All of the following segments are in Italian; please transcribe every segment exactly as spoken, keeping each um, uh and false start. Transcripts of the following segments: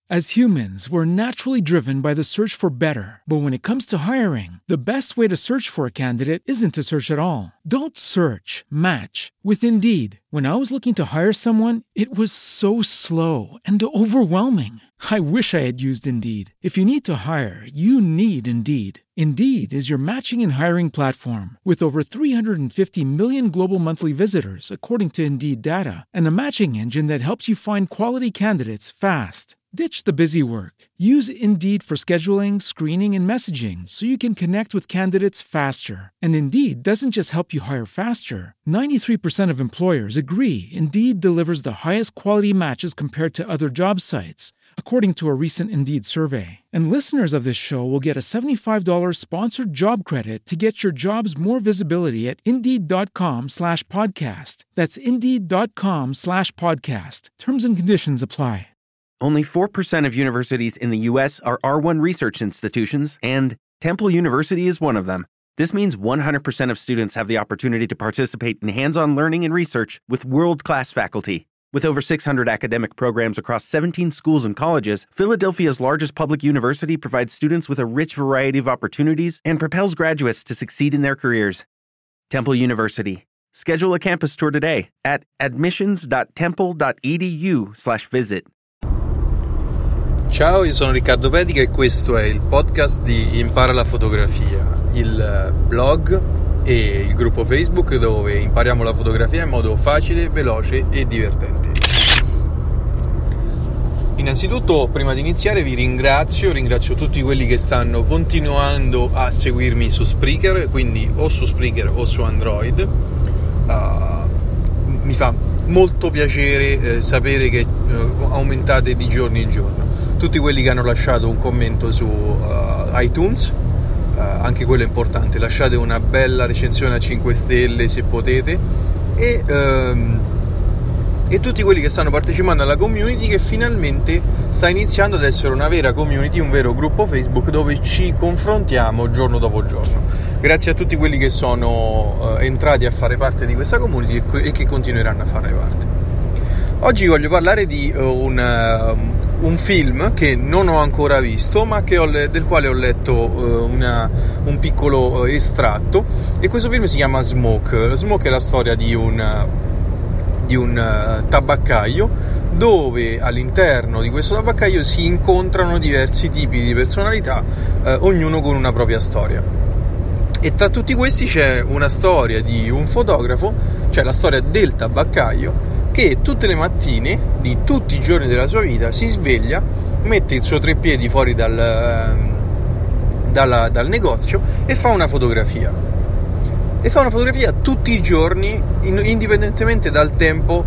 As humans, we're naturally driven by the search for better. But when it comes to hiring, the best way to search for a candidate isn't to search at all. Don't search, match with Indeed. When I was looking to hire someone, it was so slow and overwhelming. I wish I had used Indeed. If you need to hire, you need Indeed. Indeed is your matching and hiring platform with over three hundred fifty million global monthly visitors, according to Indeed data, and a matching engine that helps you find quality candidates fast. Ditch the busy work. Use Indeed for scheduling, screening, and messaging so you can connect with candidates faster. And Indeed doesn't just help you hire faster. ninety-three percent of employers agree Indeed delivers the highest quality matches compared to other job sites, according to a recent Indeed survey. And listeners of this show will get a seventy-five dollars sponsored job credit to get your jobs more visibility at Indeed.com slash podcast. That's Indeed.com slash podcast. Terms and conditions apply. Only four percent of universities in the U S are R one research institutions, and Temple University is one of them. This means one hundred percent of students have the opportunity to participate in hands-on learning and research with world-class faculty. With over six hundred academic programs across seventeen schools and colleges, Philadelphia's largest public university provides students with a rich variety of opportunities and propels graduates to succeed in their careers. Temple University. Schedule a campus tour today at admissions.temple.edu slash visit. Ciao, io sono Riccardo Pedica e questo è il podcast di Impara la fotografia, il blog e il gruppo Facebook dove impariamo la fotografia in modo facile, veloce e divertente. Innanzitutto, prima di iniziare, vi ringrazio, ringrazio tutti quelli che stanno continuando a seguirmi su Spreaker, quindi o su Spreaker o su Android. Uh, mi fa molto piacere eh, sapere che uh, aumentate di giorno in giorno. Tutti quelli che hanno lasciato un commento su uh, iTunes, uh, anche quello è importante, lasciate una bella recensione a cinque stelle se potete, e, um, e tutti quelli che stanno partecipando alla community, che finalmente sta iniziando ad essere una vera community, un vero gruppo Facebook dove ci confrontiamo giorno dopo giorno. Grazie a tutti quelli che sono uh, entrati a fare parte di questa community e, co- e che continueranno a fare parte. Oggi voglio parlare di uh, un... Uh, un film che non ho ancora visto, ma che ho le- del quale ho letto uh, una, un piccolo uh, estratto, e questo film si chiama Smoke. Smoke è la storia di un, uh, di un uh, tabaccaio, dove all'interno di questo tabaccaio si incontrano diversi tipi di personalità, uh, ognuno con una propria storia. E tra tutti questi c'è una storia di un fotografo, cioè la storia del tabaccaio, che tutte le mattine di tutti i giorni della sua vita si sveglia, mette il suo treppiedi fuori dal, dal, dal negozio e fa una fotografia. E fa una fotografia tutti i giorni, indipendentemente dal tempo,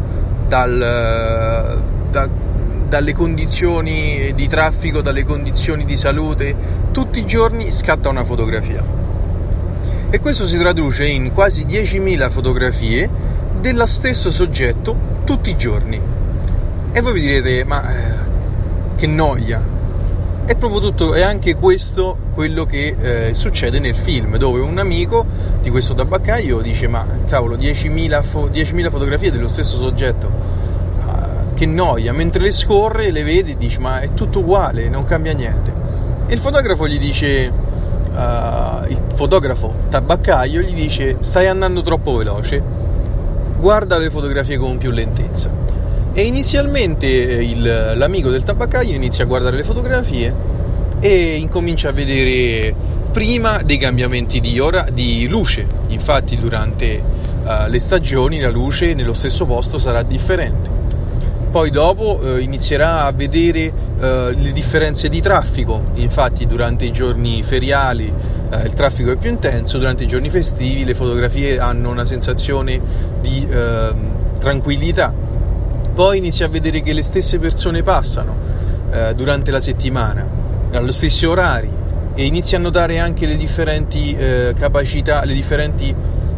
dal, da, dalle condizioni di traffico, dalle condizioni di salute. Tutti i giorni scatta una fotografia. E questo si traduce in quasi diecimila fotografie dello stesso soggetto tutti i giorni. E voi vi direte, ma eh, che noia. È proprio tutto, è anche questo quello che eh, succede nel film, dove un amico di questo tabaccaio dice, ma cavolo, diecimila, fo- diecimila fotografie dello stesso soggetto, uh, che noia. Mentre le scorre, le vede e dice, ma è tutto uguale, non cambia niente. E il fotografo gli dice, uh, il fotografo tabaccaio gli dice, stai andando troppo veloce, guarda le fotografie con più lentezza. E inizialmente il, l'amico del tabaccaio inizia a guardare le fotografie e incomincia a vedere prima dei cambiamenti di ora di luce. Infatti durante uh, le stagioni la luce nello stesso posto sarà differente. Poi dopo uh, inizierà a vedere uh, le differenze di traffico. Infatti durante i giorni feriali uh, il traffico è più intenso, durante i giorni festivi le fotografie hanno una sensazione di uh, tranquillità. Poi inizia a vedere che le stesse persone passano uh, durante la settimana, allo stesso orari, e inizia a notare anche le differenti uh, capacità, le differenti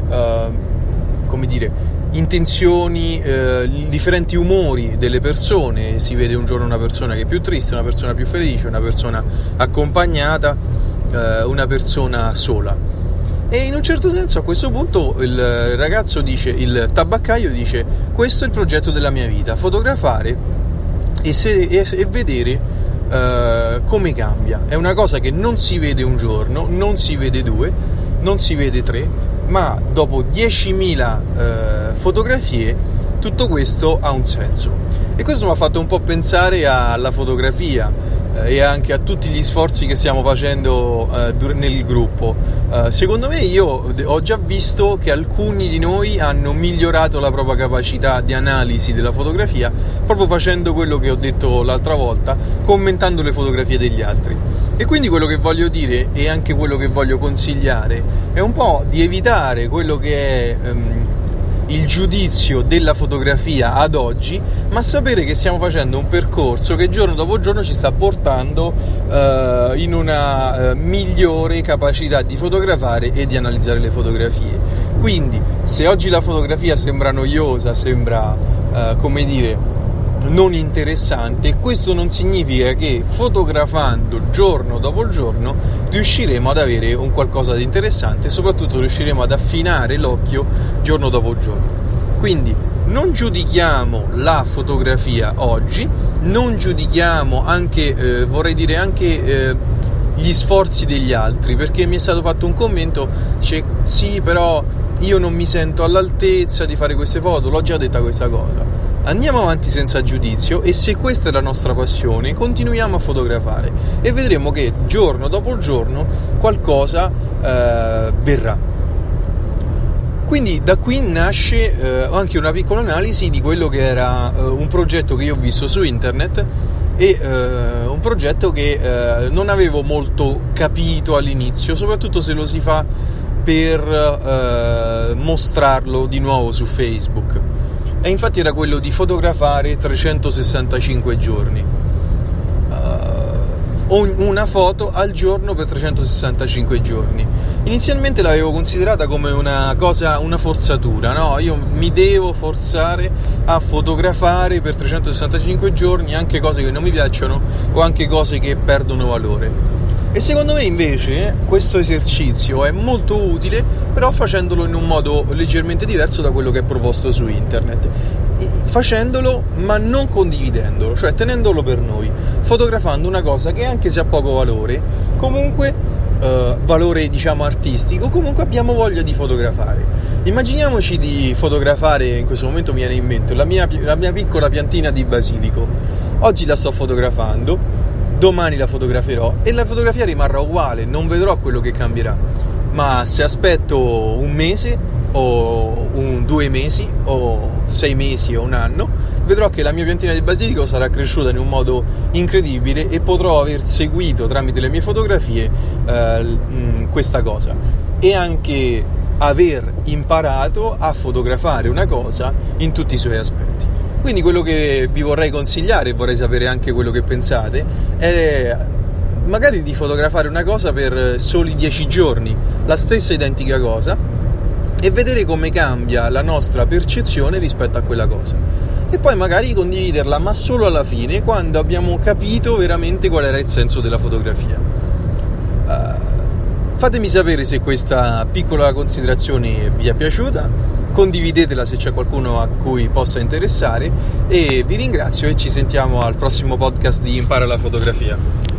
uh, come dire, intenzioni, eh, i differenti umori delle persone. Si vede un giorno una persona che è più triste, una persona più felice, una persona accompagnata, eh, una persona sola. E in un certo senso a questo punto il ragazzo dice, il tabaccaio dice, questo è il progetto della mia vita, fotografare e, se, e, e vedere eh, come cambia. È una cosa che non si vede un giorno, non si vede due, non si vede tre, ma dopo diecimila eh, fotografie tutto questo ha un senso. E questo mi ha fatto un po' pensare alla fotografia eh, e anche a tutti gli sforzi che stiamo facendo eh, dur- nel gruppo. Eh, secondo me io ho già visto che alcuni di noi hanno migliorato la propria capacità di analisi della fotografia proprio facendo quello che ho detto l'altra volta, commentando le fotografie degli altri. E quindi quello che voglio dire e anche quello che voglio consigliare è un po' di evitare quello che è ehm, il giudizio della fotografia ad oggi, ma sapere che stiamo facendo un percorso che giorno dopo giorno ci sta portando eh, in una eh, migliore capacità di fotografare e di analizzare le fotografie. Quindi se oggi la fotografia sembra noiosa, sembra eh, come dire non interessante, questo non significa che fotografando giorno dopo giorno riusciremo ad avere un qualcosa di interessante e soprattutto riusciremo ad affinare l'occhio giorno dopo giorno. Quindi non giudichiamo la fotografia oggi, non giudichiamo anche, eh, vorrei dire anche eh, gli sforzi degli altri, perché mi è stato fatto un commento, cioè, sì però io non mi sento all'altezza di fare queste foto, l'ho già detta questa cosa. Andiamo avanti senza giudizio e se questa è la nostra passione continuiamo a fotografare e vedremo che giorno dopo giorno qualcosa eh, verrà. Quindi da qui nasce eh, anche una piccola analisi di quello che era eh, un progetto che io ho visto su internet e eh, un progetto che eh, non avevo molto capito all'inizio, soprattutto se lo si fa per eh, mostrarlo di nuovo su Facebook. E infatti era quello di fotografare trecentosessantacinque giorni, uh, una foto al giorno per trecentosessantacinque giorni. Inizialmente l'avevo considerata come una cosa, una forzatura, no? Io mi devo forzare a fotografare per trecentosessantacinque giorni anche cose che non mi piacciono o anche cose che perdono valore. E secondo me invece questo esercizio è molto utile, però facendolo in un modo leggermente diverso da quello che è proposto su internet, facendolo ma non condividendolo, cioè tenendolo per noi, fotografando una cosa che anche se ha poco valore, comunque eh, valore diciamo artistico, comunque abbiamo voglia di fotografare. Immaginiamoci di fotografare, in questo momento mi viene in mente la mia, la mia piccola piantina di basilico. Oggi la sto fotografando, domani la fotograferò e la fotografia rimarrà uguale, non vedrò quello che cambierà. Ma se aspetto un mese o un due mesi o sei mesi o un anno, vedrò che la mia piantina di basilico sarà cresciuta in un modo incredibile e potrò aver seguito tramite le mie fotografie eh, questa cosa e anche aver imparato a fotografare una cosa in tutti i suoi aspetti. Quindi quello che vi vorrei consigliare, e vorrei sapere anche quello che pensate, è magari di fotografare una cosa per soli dieci giorni, la stessa identica cosa, e vedere come cambia la nostra percezione rispetto a quella cosa. E poi magari condividerla, ma solo alla fine, quando abbiamo capito veramente qual era il senso della fotografia. Uh, fatemi sapere se questa piccola considerazione vi è piaciuta. Condividetela se c'è qualcuno a cui possa interessare e vi ringrazio e ci sentiamo al prossimo podcast di Impara la fotografia.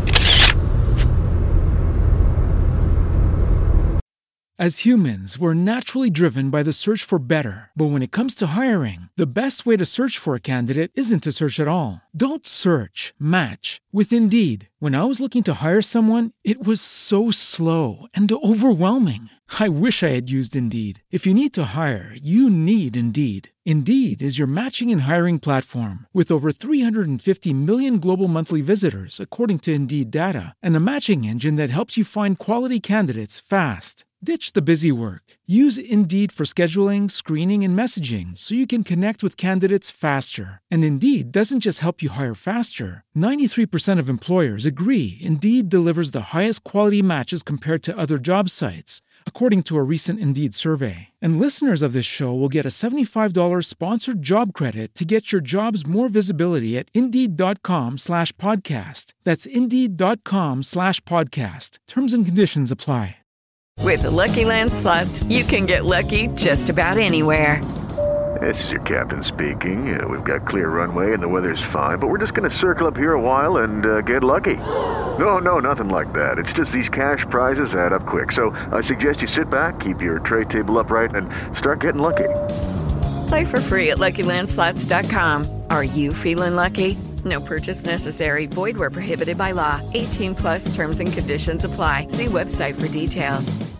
As humans, we're naturally driven by the search for better. But when it comes to hiring, the best way to search for a candidate isn't to search at all. Don't search, match with Indeed. When I was looking to hire someone, it was so slow and overwhelming. I wish I had used Indeed. If you need to hire, you need Indeed. Indeed is your matching and hiring platform with over three hundred fifty million global monthly visitors, according to Indeed data, and a matching engine that helps you find quality candidates fast. Ditch the busy work. Use Indeed for scheduling, screening, and messaging so you can connect with candidates faster. And Indeed doesn't just help you hire faster. ninety-three percent of employers agree Indeed delivers the highest quality matches compared to other job sites, according to a recent Indeed survey. And listeners of this show will get a seventy-five dollars sponsored job credit to get your jobs more visibility at Indeed.com slash podcast. That's Indeed.com slash podcast. Terms and conditions apply. With the Lucky Land Slots, you can get lucky just about anywhere. This is your captain speaking. Uh, we've got clear runway and the weather's fine, but we're just going to circle up here a while and uh, get lucky. No, no, nothing like that. It's just these cash prizes add up quick. So I suggest you sit back, keep your tray table upright, and start getting lucky. Play for free at Lucky Land Slots dot com. Are you feeling lucky? No purchase necessary. Void where prohibited by law. eighteen plus terms and conditions apply. See website for details.